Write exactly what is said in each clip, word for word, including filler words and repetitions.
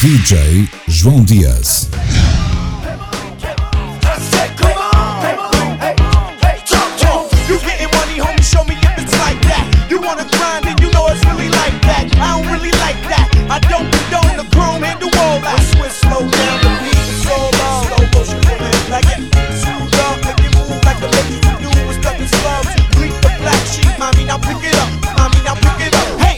D J João Dias. I don't condone the chrome and the wall. I switch slow down the beat and slow down. Slow motion moving like it. Smooth up, make it move like the ladies who do was stuck in slums. Bleak the black sheep, mommy, now pick it up. Mommy, now pick it up. Hey!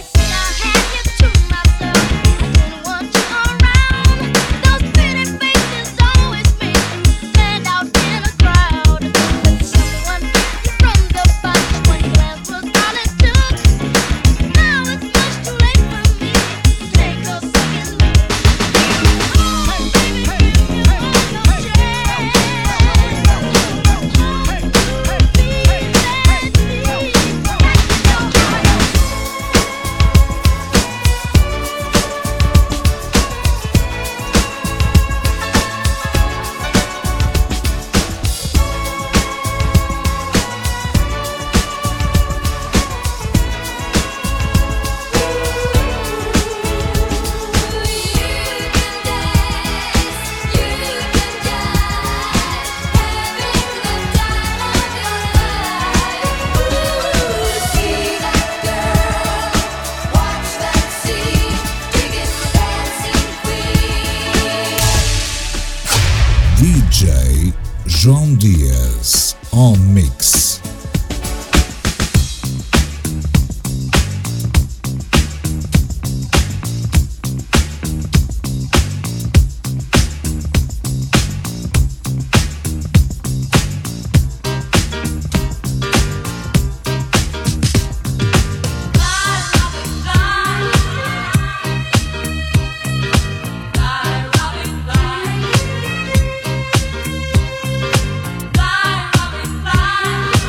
D J João Dias on mix. Fly, Robin, fly.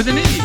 with an E.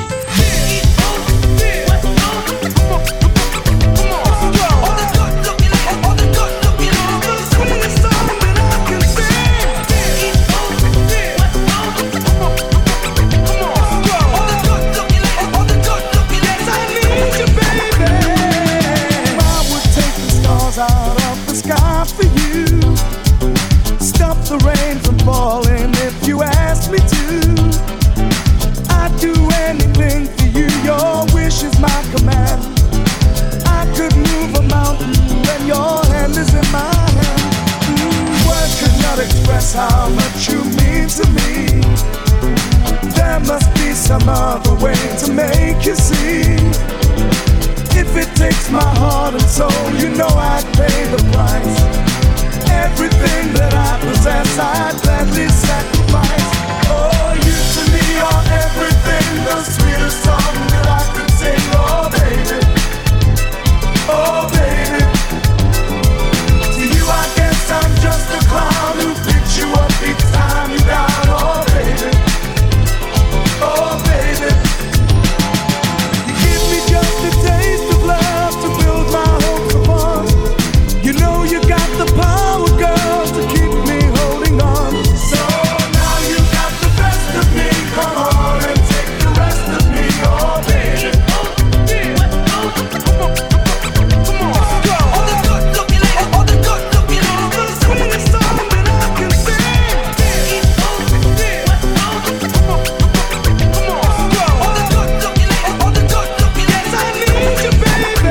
How much you mean to me. There must be some other way to make you see. If it takes my heart and soul, you know I'd pay the price. Everything that I possess, I'd gladly sacrifice. Oh, you to me are everything, the sweetest song that I could sing. Oh, baby, oh, baby. To you I guess I'm just a clown who picks you up each time you down. Oh, baby, oh, baby. You give me just a taste of love to build my hopes upon. You know you got the power, girl, to keep me holding on. So now you got the best of me. Come on and take the rest of me. Oh, baby. Come on, come on, go. All the good looking ladies, all the good looking ladies, the sweetest song that I can sing. Come on, come on, go. All the good looking ladies, all the good looking ladies, I need you, baby.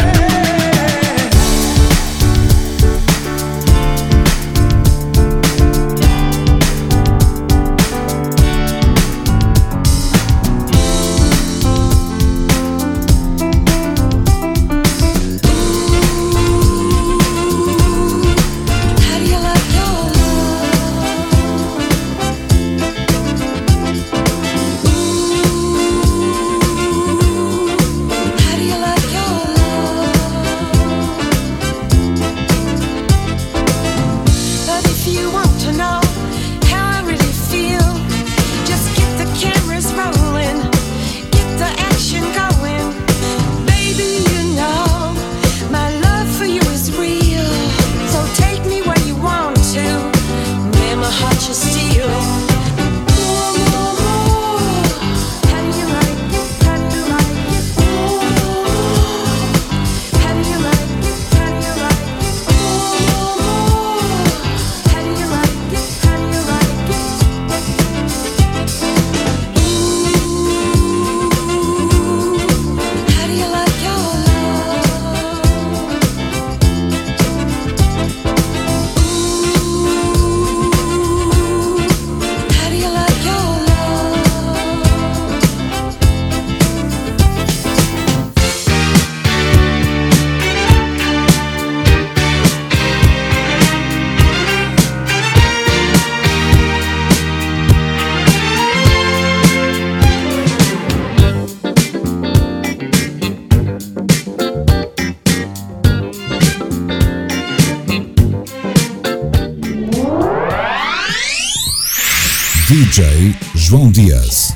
How do you like your love? How do you like your love? But if you want to know how I really feel, just get the cameras rolling, get the action going. Baby, you know my love for you is real. So take me where you want to, man, my heart you steal. More, more, more. How do you like it? How do you like it? More. How do you like it? How do you like it? More, more. How do you like it? How do you like it? How do you like your love? How do you like your love? D J João Dias.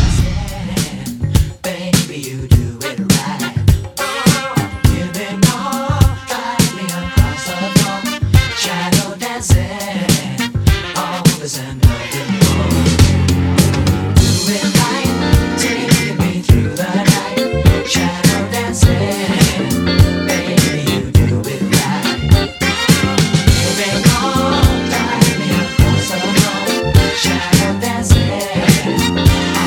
Baby, you do it right. You've been all drive me across the floor. Shadow dancing, always another more. Do it right, take me through the night. Shadow dancing, baby, you do it right. You've been all drive me across the floor. Shadow dancing.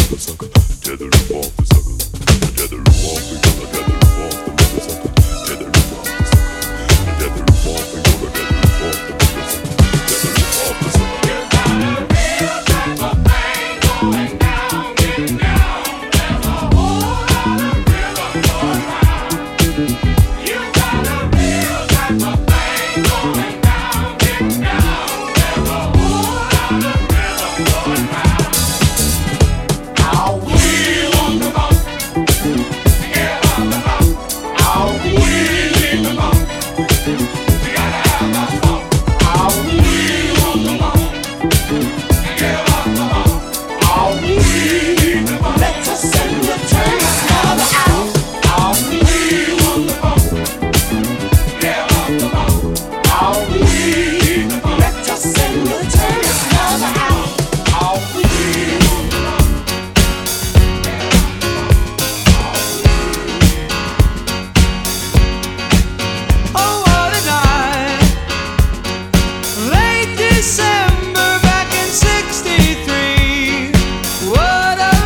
December back in sixty-three. What a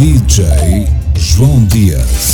D J João Dias.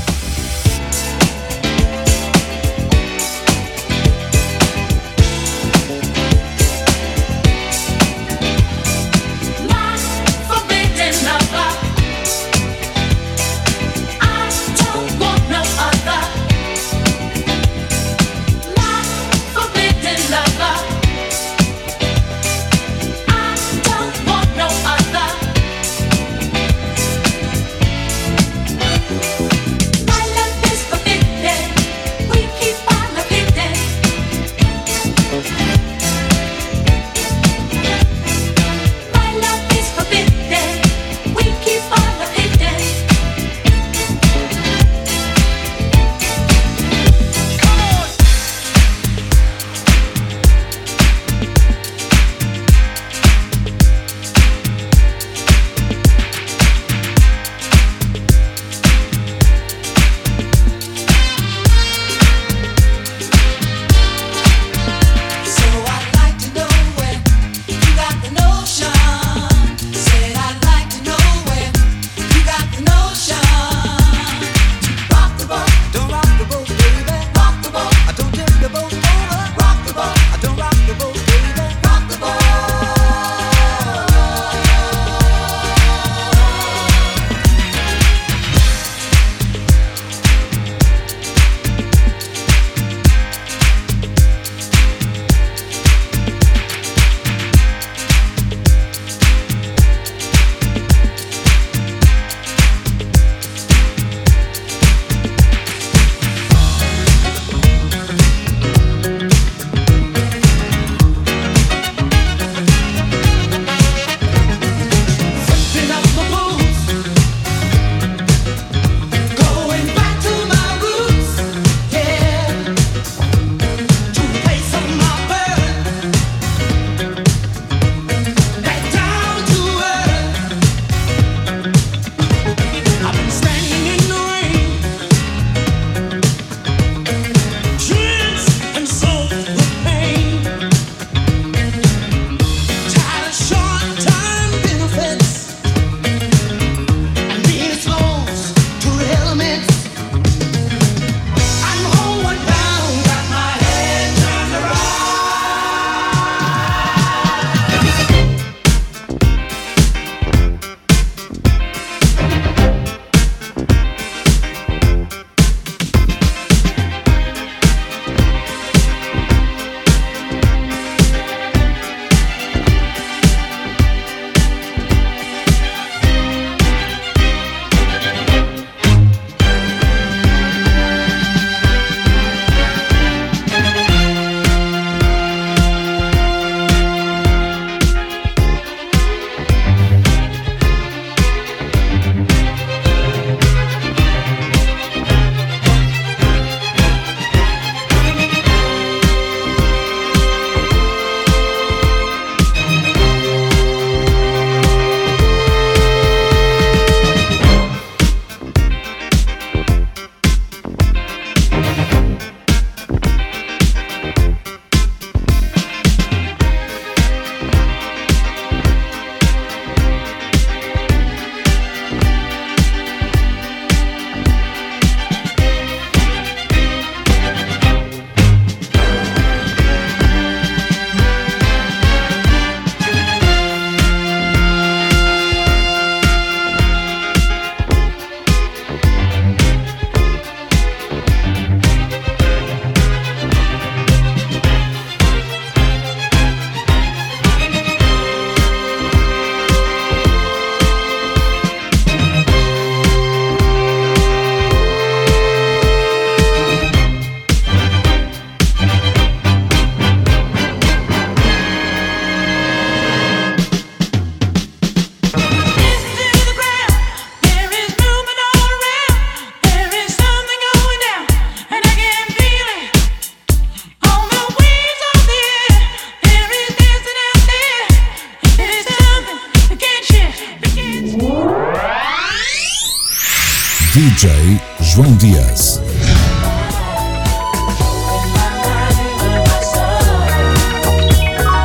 D J João Dias.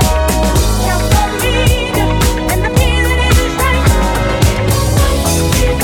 You're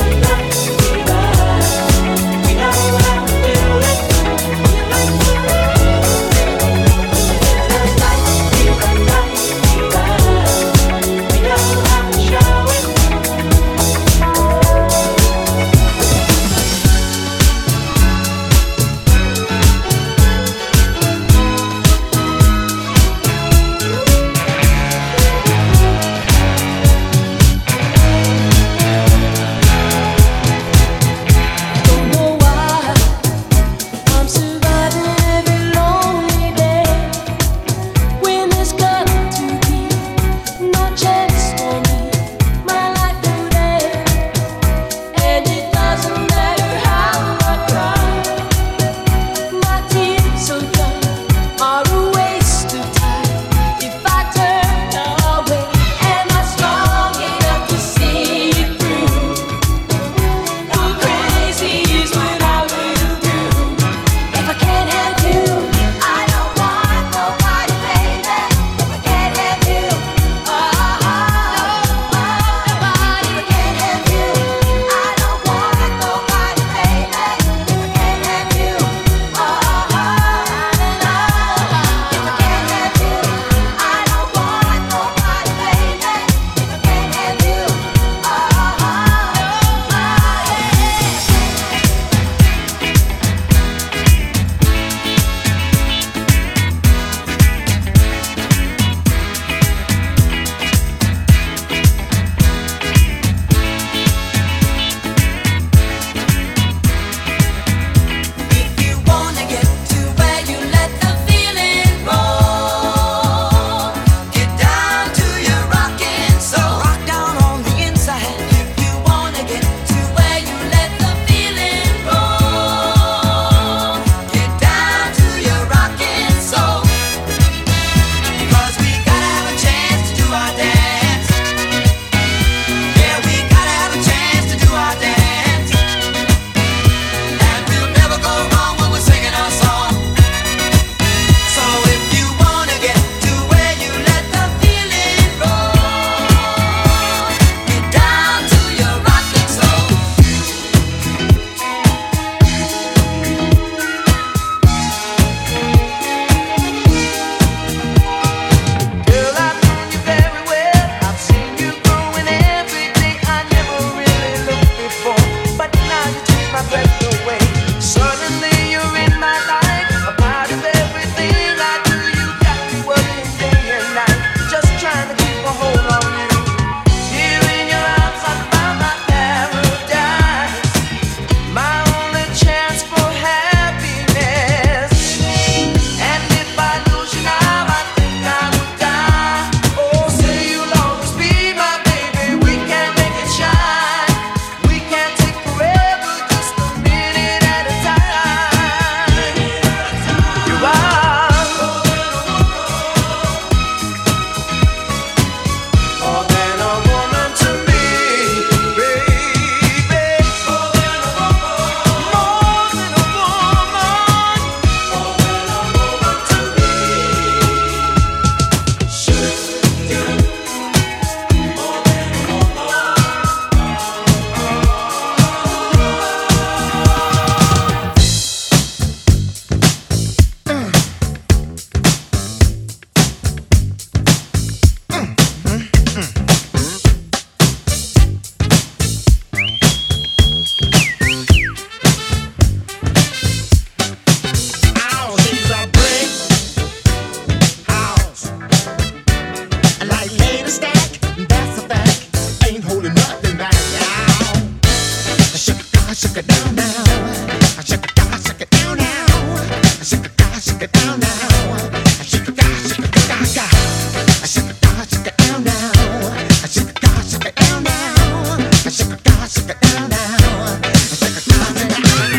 shake it down now. Shake it down, shake it down now. Shake it down, shake it down now. Shake it down, shake it down, down. Shake it down, shake it down now. Shake it down, shake it down now. Shake it down, shake it down now. Shake it down, shake it down.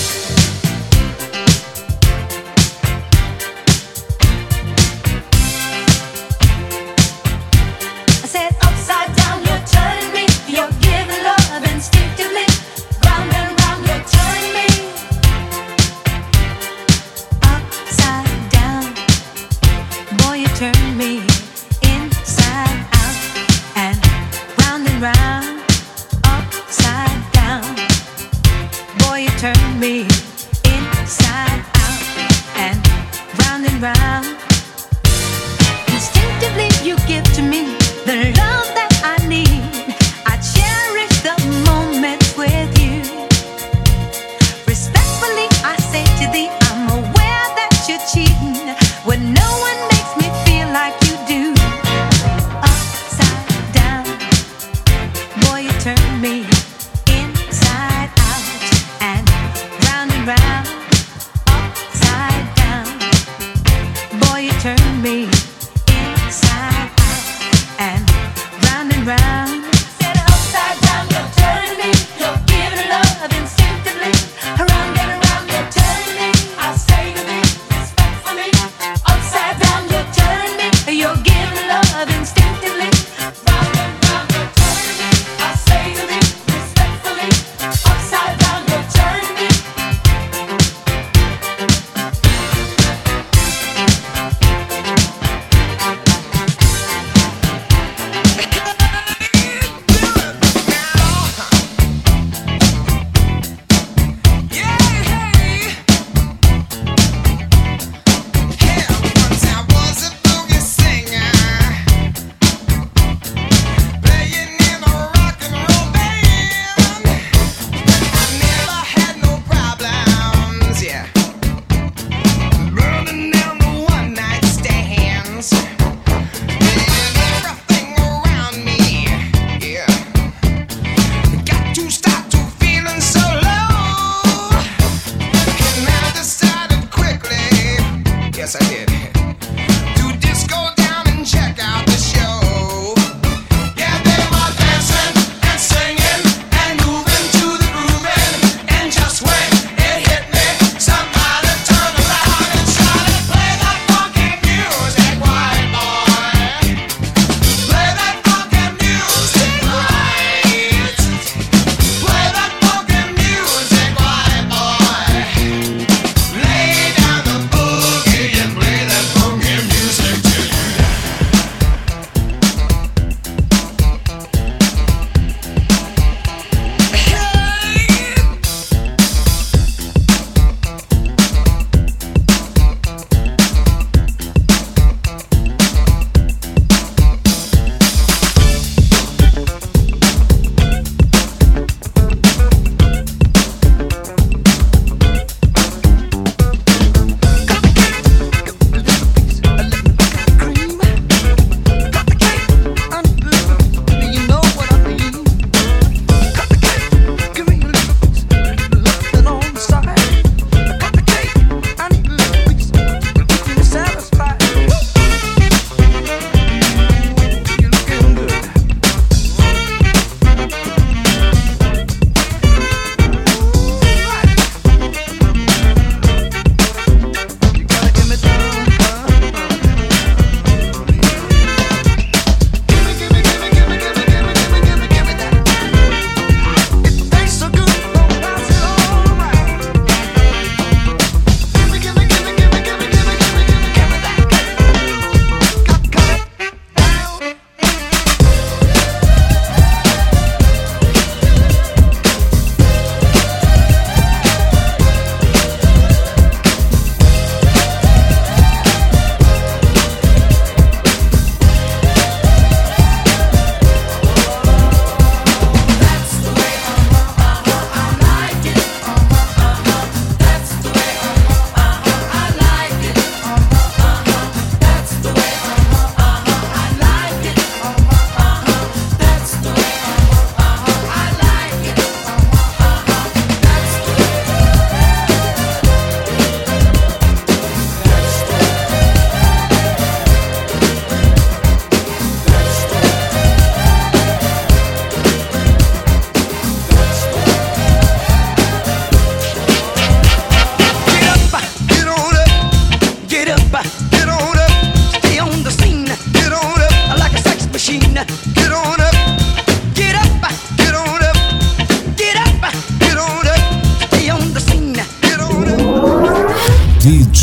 I said upside down, you're turning me. You're giving love instinctively. Round and round.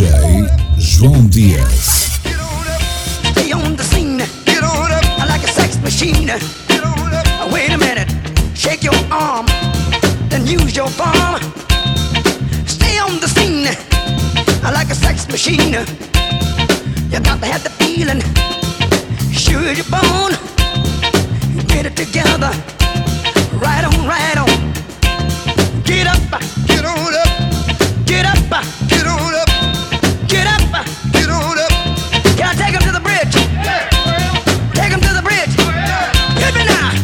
J João Dias. Stay on the scene. Get on up. I like a sex machine. Get on up. Wait a minute. Shake your arm. Then use your palm. Stay on the scene. I like a sex machine. You got to have the feeling. Sure your bone. Get it together. Right on, right on. Get up. Get on up. Get up. Get on up. Get up. Get on up. Can I take him to the bridge? Take him to the bridge. Hit me now.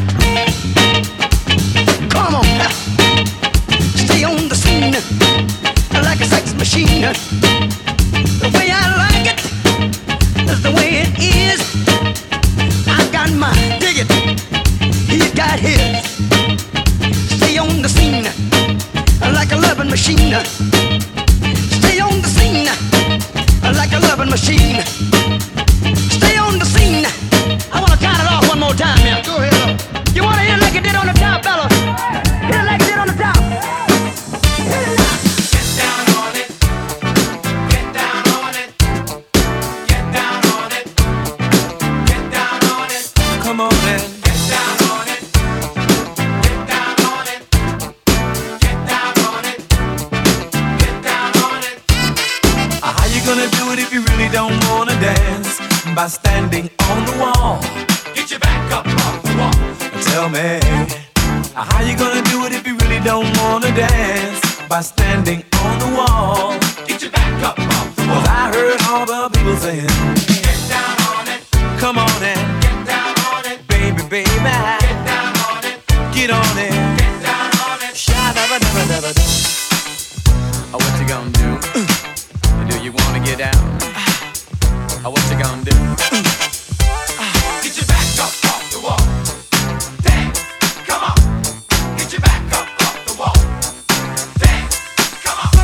Come on. Stay on the scene like a sex machine. The way I like it is the way it is. I got my dig it. He's got his. Stay on the scene like a loving machine. Stay on the scene like a loving machine. Stay on the scene. I wanna count it off one more time here. Go ahead. You wanna hear it like it did on the top, fella? Hit it like it did on the top. Hit it now. Get down on it. Get down on it. Get down on it. Get down on it. Come on then. Get down on it. Get down on it. Get down on it. Get down on it. How you gonna do it if you really don't wanna dance? By standing on the wall. Get your back up off the wall. Tell me, how you gonna do it if you really don't wanna dance? By standing on the wall. Get your back up off the wall. 'Cause I heard all the people saying, Get down on it. come on and Get down on it. baby, baby, Get down on it. get on it. Get down on it. Sha-da-ba-da-ba-da-ba-da. Oh, what you gonna do? Do you wanna get down? Oh, what you gonna do? Get your back up off the wall. Dance, come on. Get your back up off the wall. Dance, come on.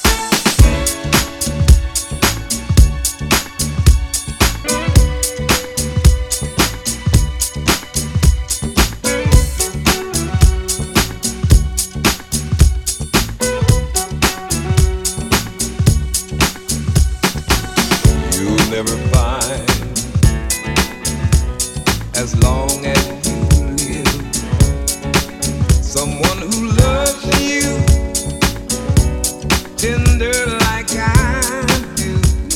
You'll never find, as long as you live, someone who loves you tender like I do.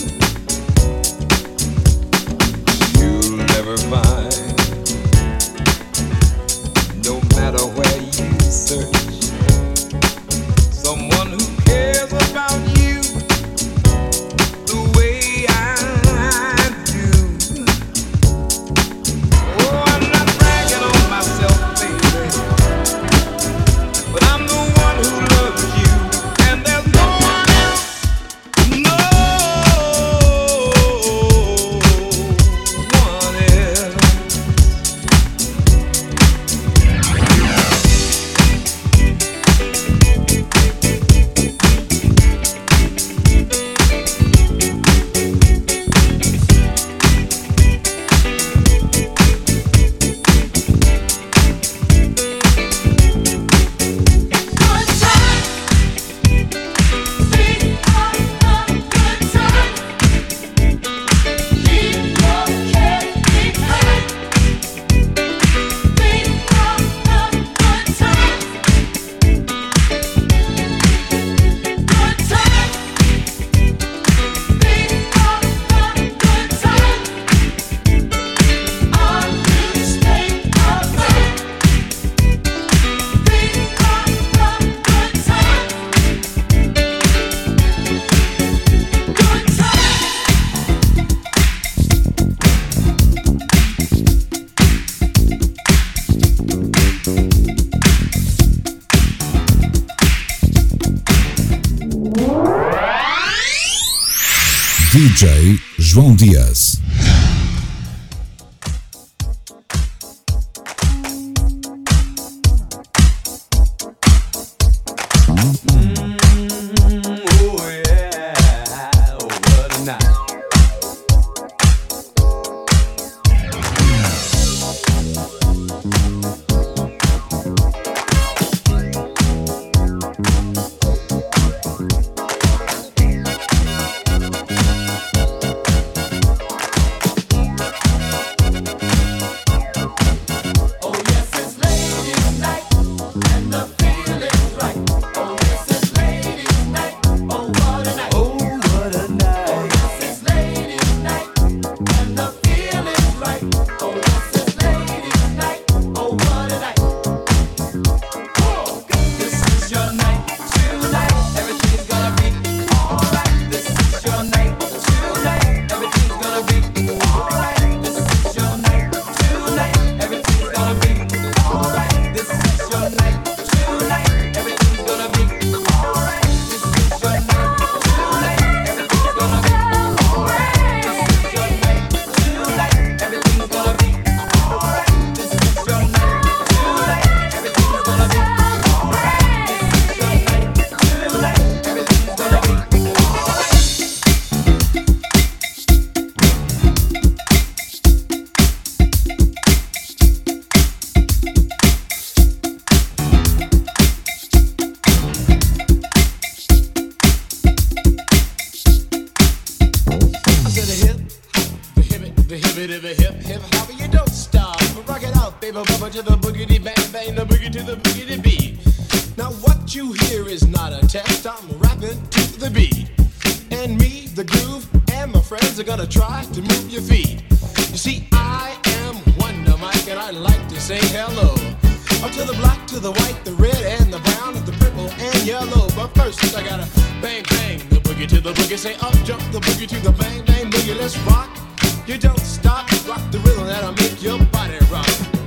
You'll never find, no matter where you search, someone who cares about you the way I do. Oh, I'm not bragging on myself, baby, but I'm the one who loves you, and there's no one else, no one else. D J João Dias. Oh yeah, oh what a night. bit of a hip hip hopper, you don't stop. Rock it out, baby, bubba to the boogity bang bang, the boogie to the boogity beat. Now what you hear is not a test, I'm rapping to the beat. And me, the groove, and my friends are gonna try to move your feet. You see, I am Wonder Mike, and I like to say hello. Up to the black, to the white, the red, and the brown, and the purple, and yellow. But first, I gotta bang, bang, the boogie to the boogie. Say up, jump the boogie to the bang, bang, boogie. Let's rock. You don't stop, rock the rhythm that'll make your body rock.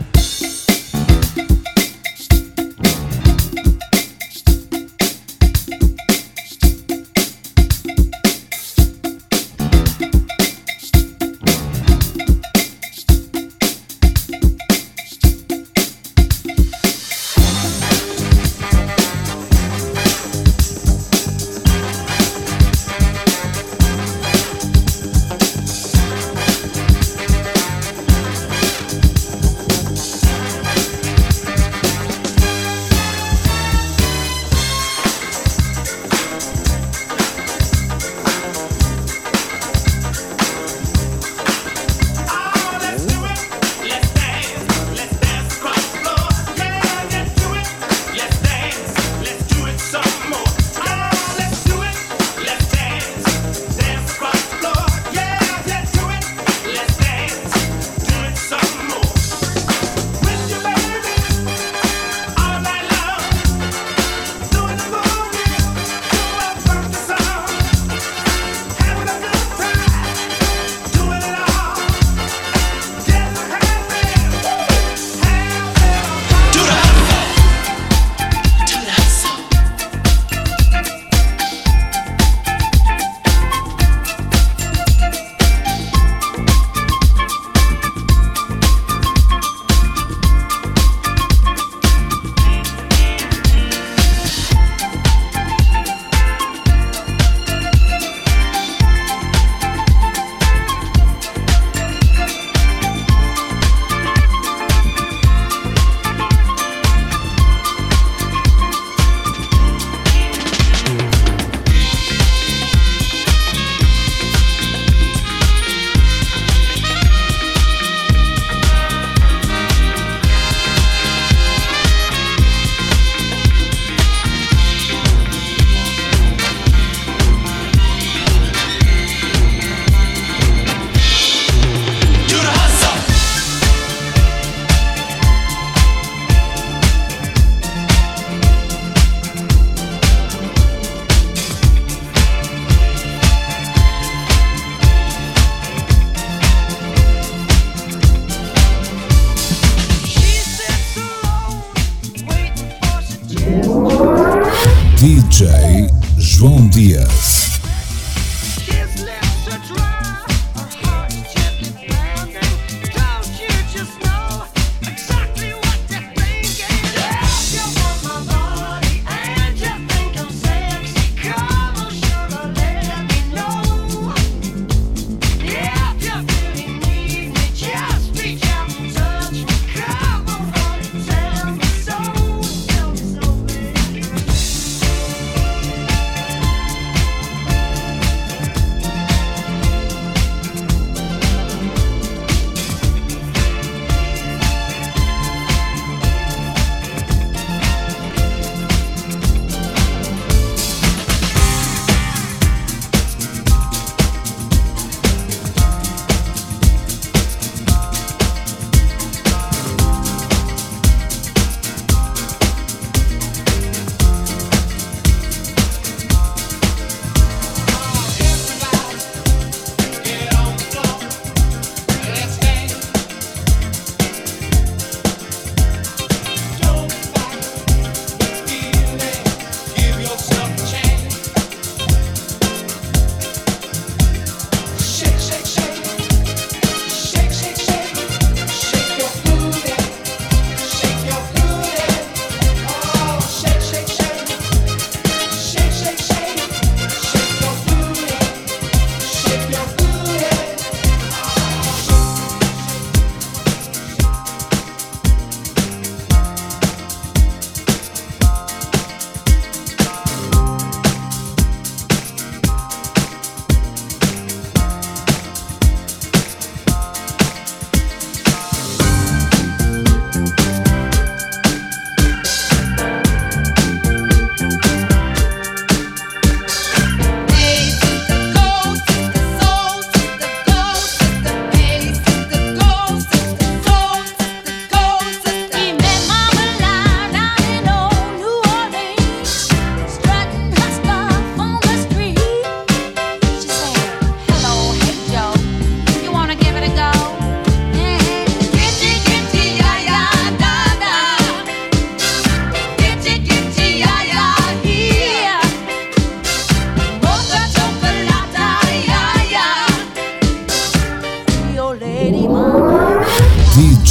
D J João Dias. So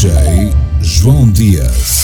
D J João Dias.